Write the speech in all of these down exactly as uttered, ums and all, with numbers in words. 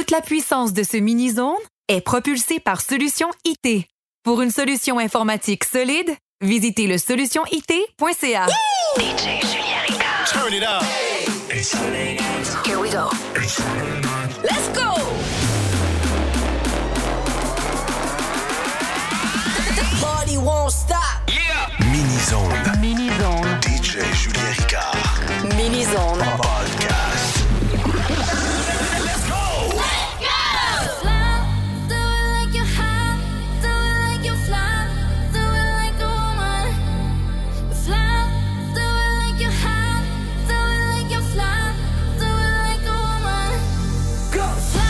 Toute la puissance de ce mini-zone est propulsée par Solution I T. Pour une solution informatique solide, visitez le solution I T point C A. D J Julien Ricard. Turn it up. Here we go. Let's go. The party won't stop. Yeah. Mini-zone. Mini-zone. D J Julien Ricard. Mini-zone. Podcast. Let's go. Fly,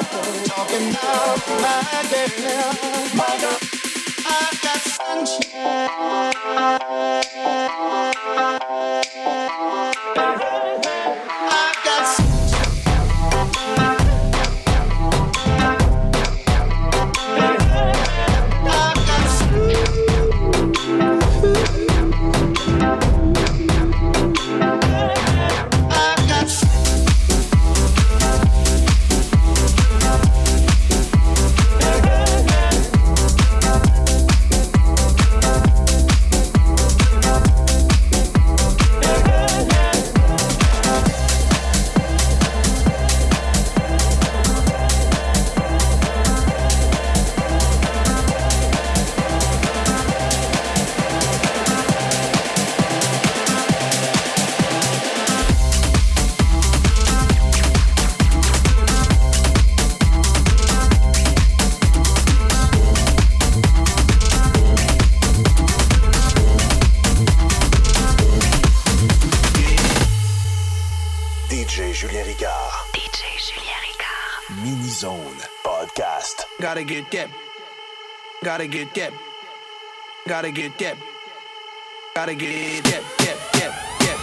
Talking about my girl, my girl. I've got sunshine. I've got sunshine. I've got I've got D J Julien Ricard. D J Julien Ricard. Mini-Zone Podcast. Gotta get that. Gotta get that. Gotta get that. Gotta get that. That. That. That.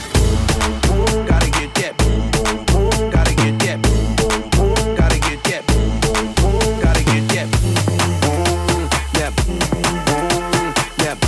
That. Gotta get that. Gotta get that. Gotta get that. Gotta get that. That. That.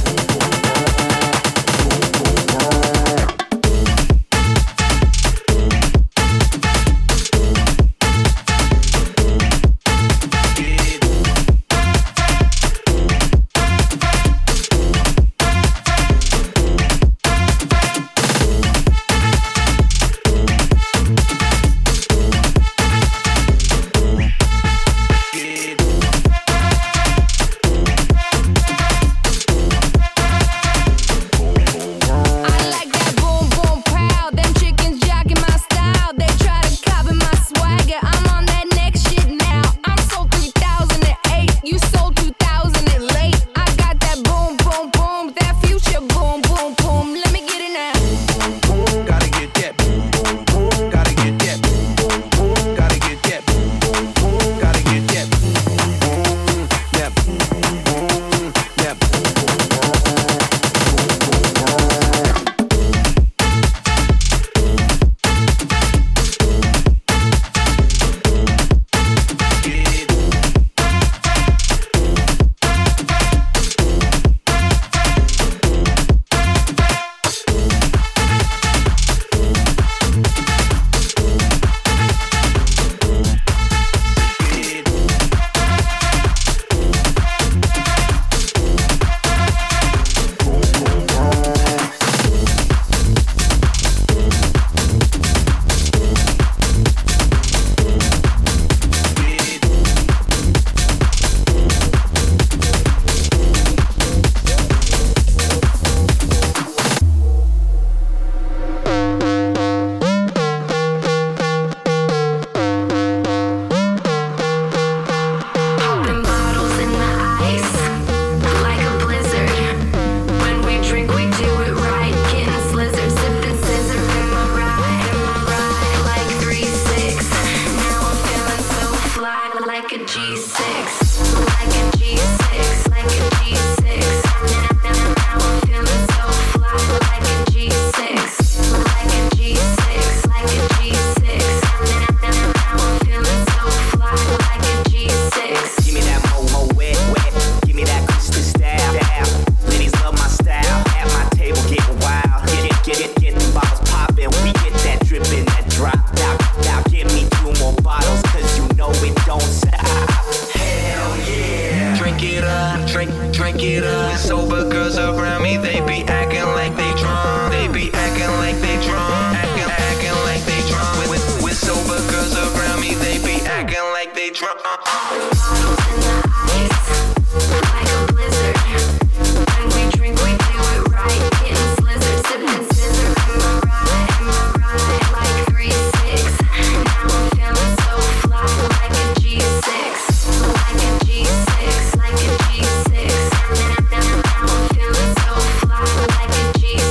G six.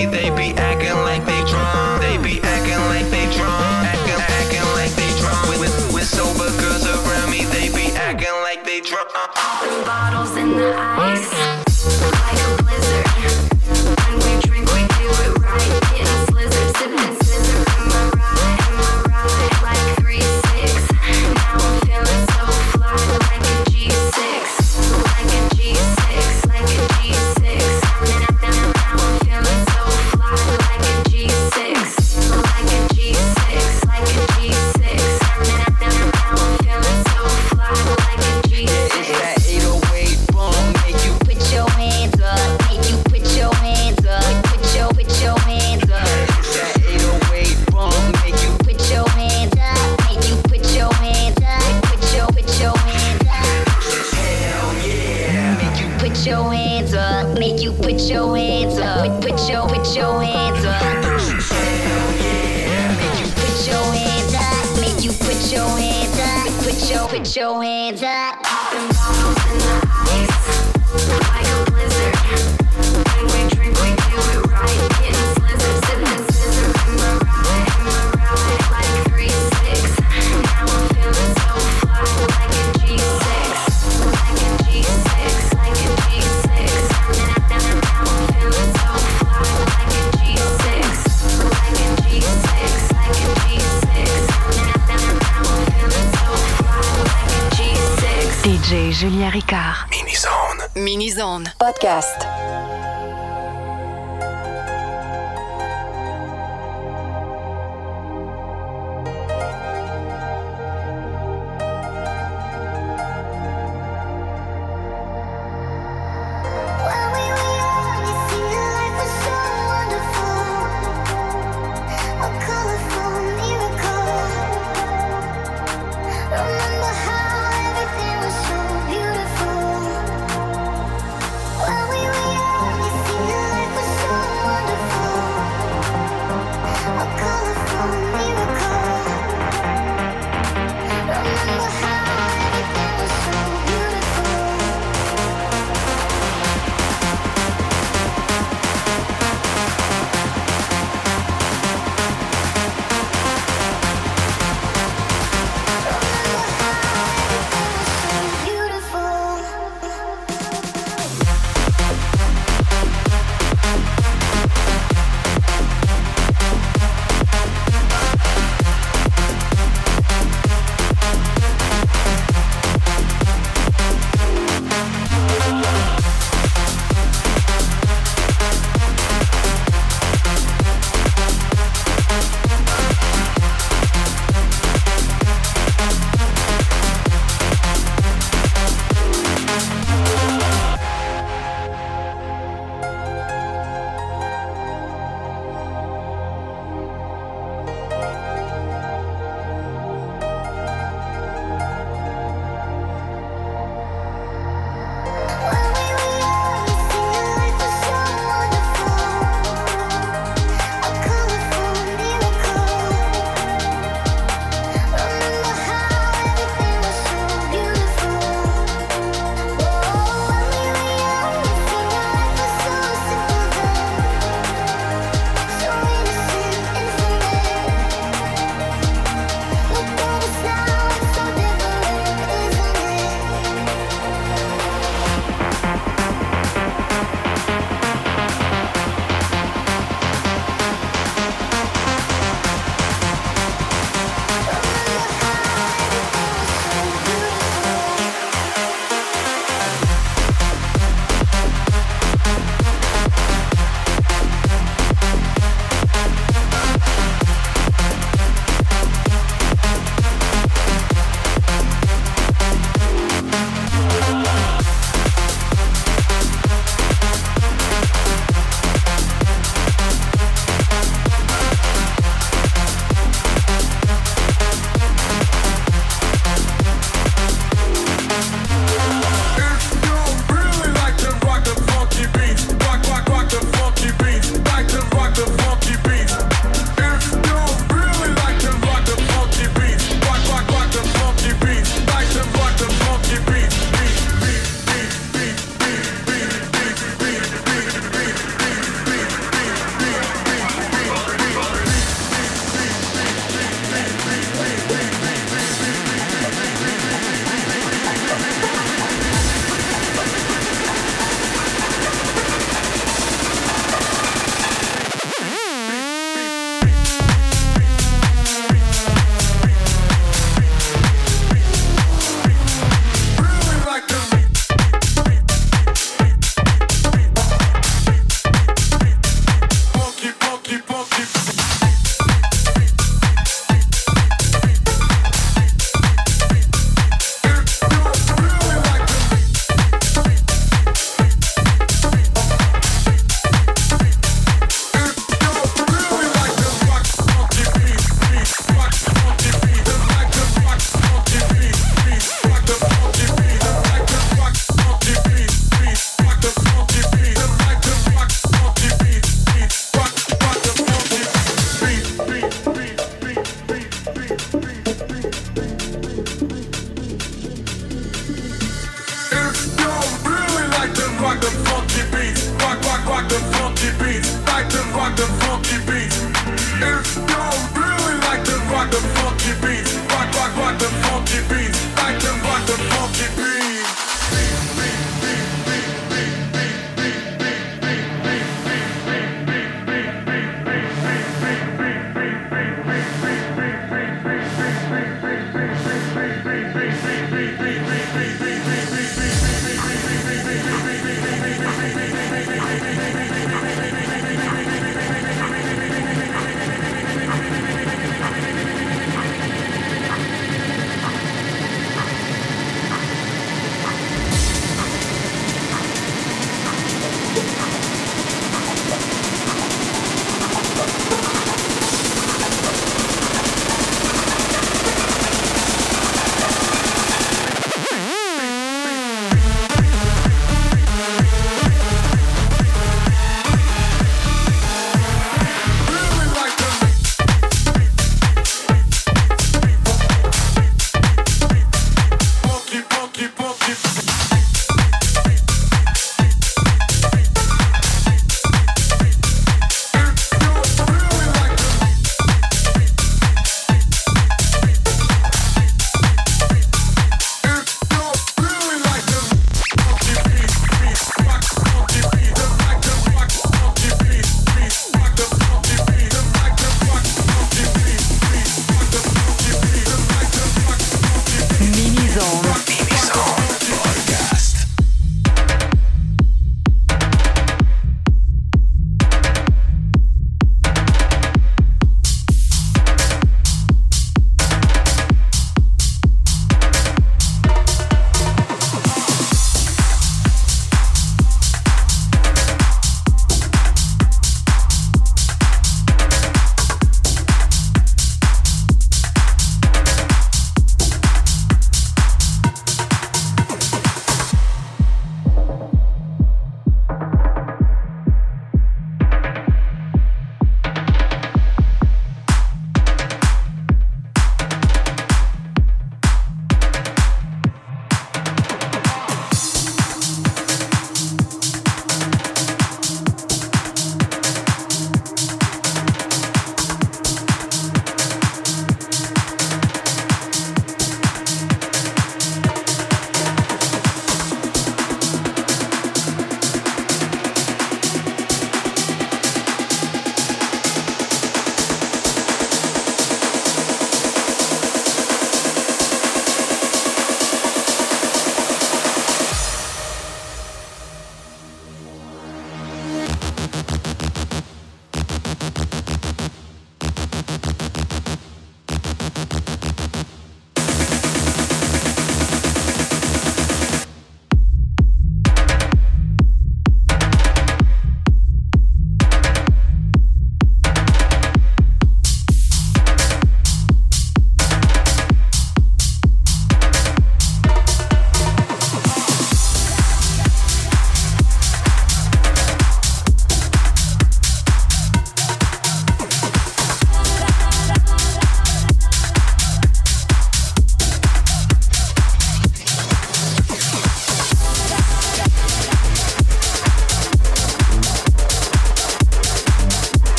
me, they be acting like they drunk. They be acting like they drunk. Acting, acting like they drunk. With, with, with sober girls around me, they be acting like they drunk. Popping bottles in the ice, like a blizzard. When we drink, we do it right. Getting slizzard, sipping scissor. Am I right? Am I right? Like three six. Now I'm feeling so fly, like a G six, like a G six, like a G six. Now I'm feeling so fly, like a G six, like a G six, like a G six. Now I'm feeling so fly, like a G six. It's that eight oh eight boom, make you put your hands up, make you put your hands up, put your, put your hands up. It's that eight oh eight boom, make you put your hands up, make you put your hands up, put your, put your hands up. Hell yeah. Make you put your hands up, make you put your hands up, put, put your, put your hands up. Hell yeah. Make you put your hands up, make you put your hands up, put your, put your hands up. Popping bottles in the ice, like a blizzard. When we drink, we do it right. Getting slizzard, sipping scissor. Am I right? Am I right? Like three six. Now I'm feeling so fly, like a G six, like a G six, like a G six. Now I'm feeling so fly, like a G six, like a G six, like a G six. Now I'm feeling so fly, like a G six. D J Julien Ricard. Mini-zone. Mini-zone. Podcast. When we were young, it seemed life was so wonderful, a colorful miracle. Remember how everything was so beautiful. When we were young, it seemed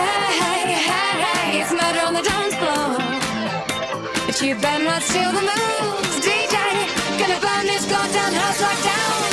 Hey, hey, hey, it's murder on the dance floor. But you better not steal the moves, D J. Gonna burn this goddamn house like down.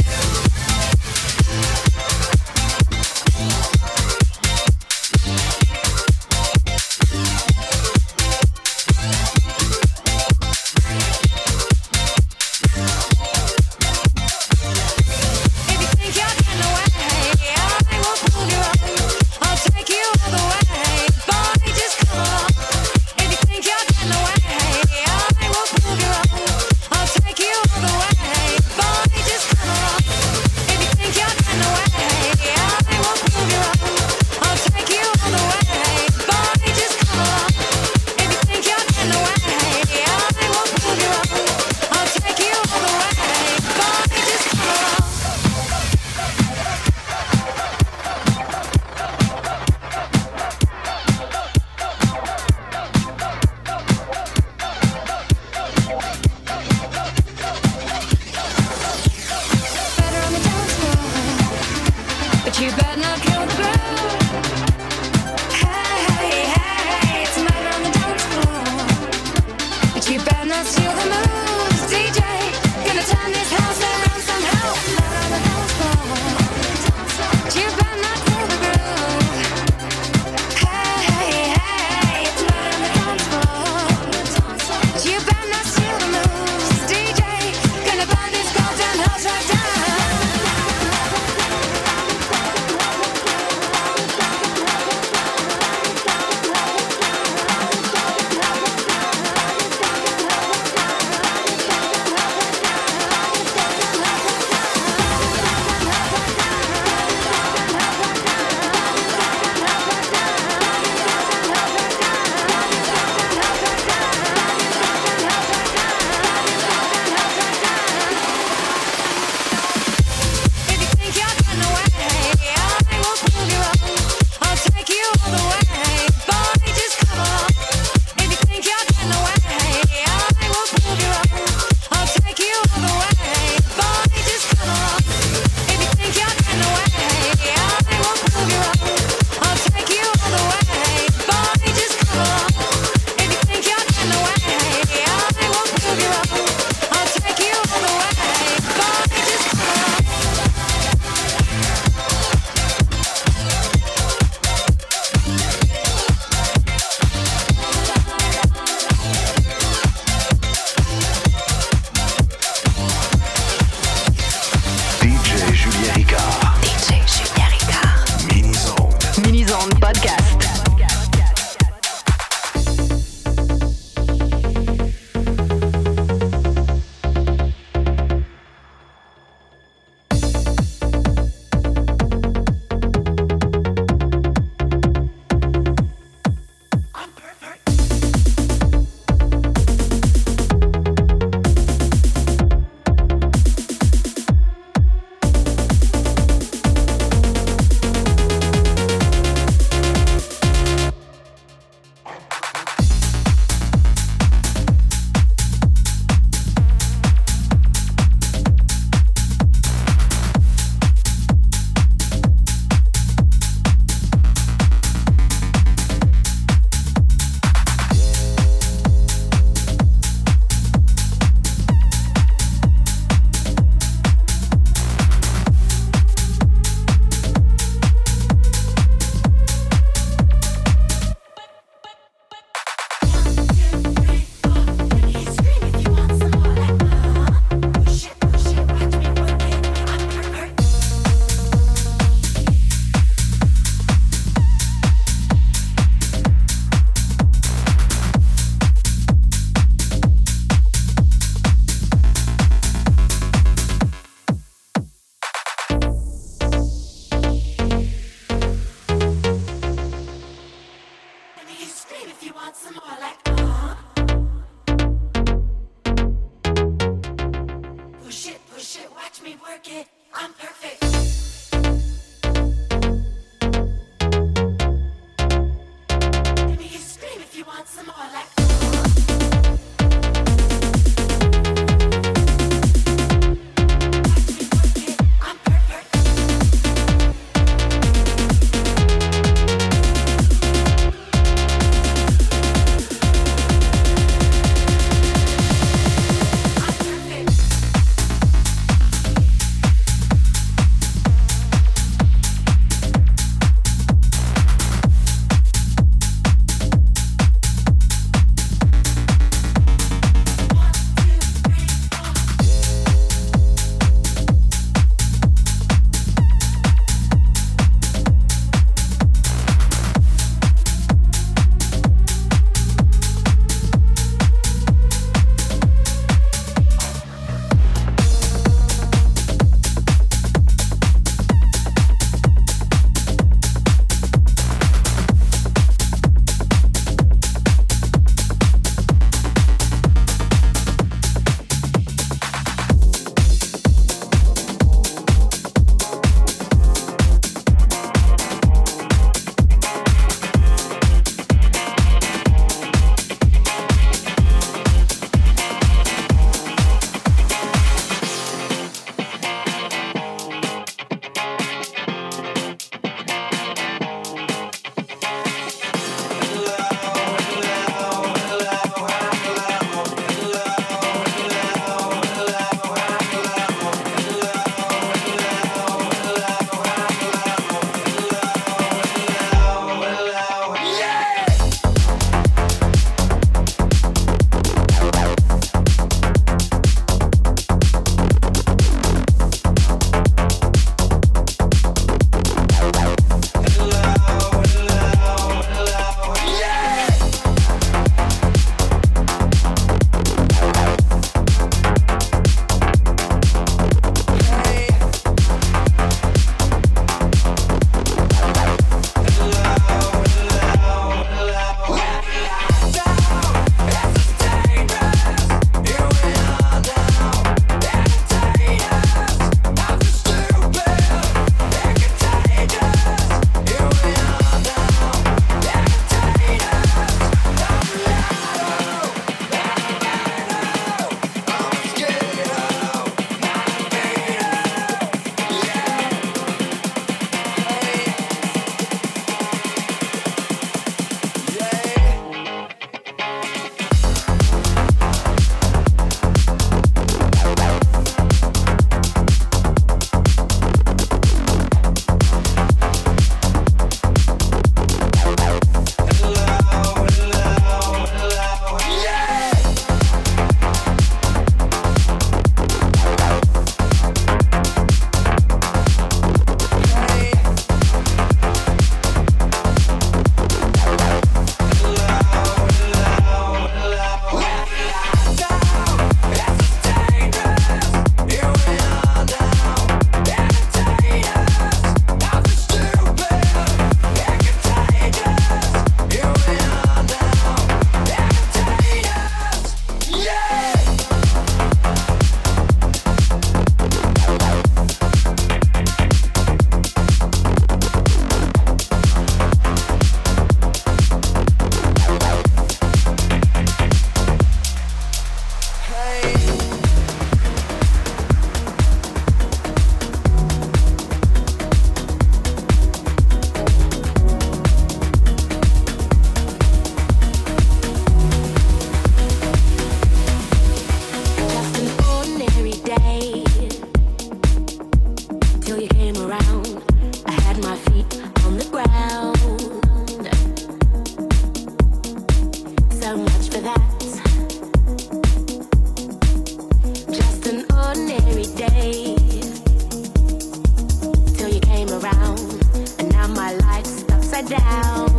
out.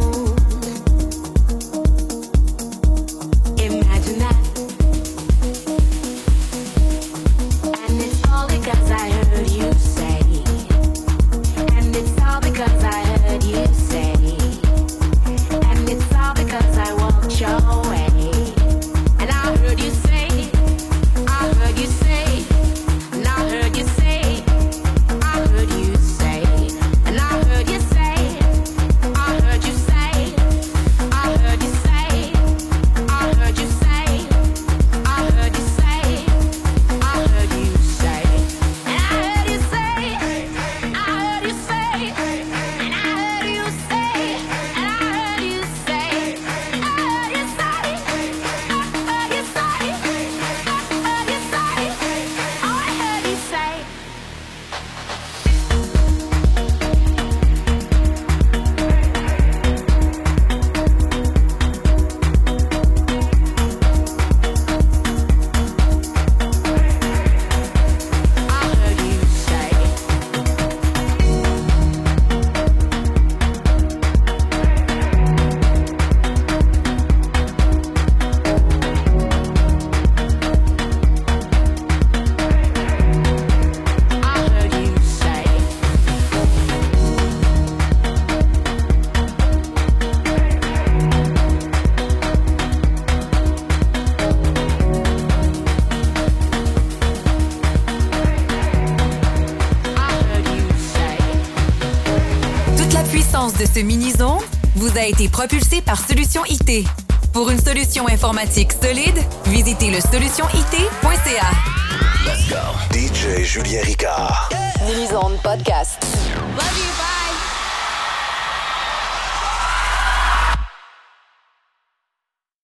Imagine that. And it's all because I heard you say. And it's all because I heard you say. And it's all because I walked your way. And I heard you say, I heard you say, and I heard you say, I heard you say, and I heard you say, I heard you say, I heard you say, I heard you say, I heard you say, I heard you say, and I heard you say, I heard you say, and I heard you say, and I heard you say, I heard you say, I heard you say, I heard you say, oh I heard you say. I heard you say. I heard you say. I heard you say. Toute la puissance de ce mini-zone vous a été propulsée par Solution I T. Pour une solution informatique solide, visitez le solution I T point C A. D J Julien Ricard. Mini-zone podcast. Love you, bye.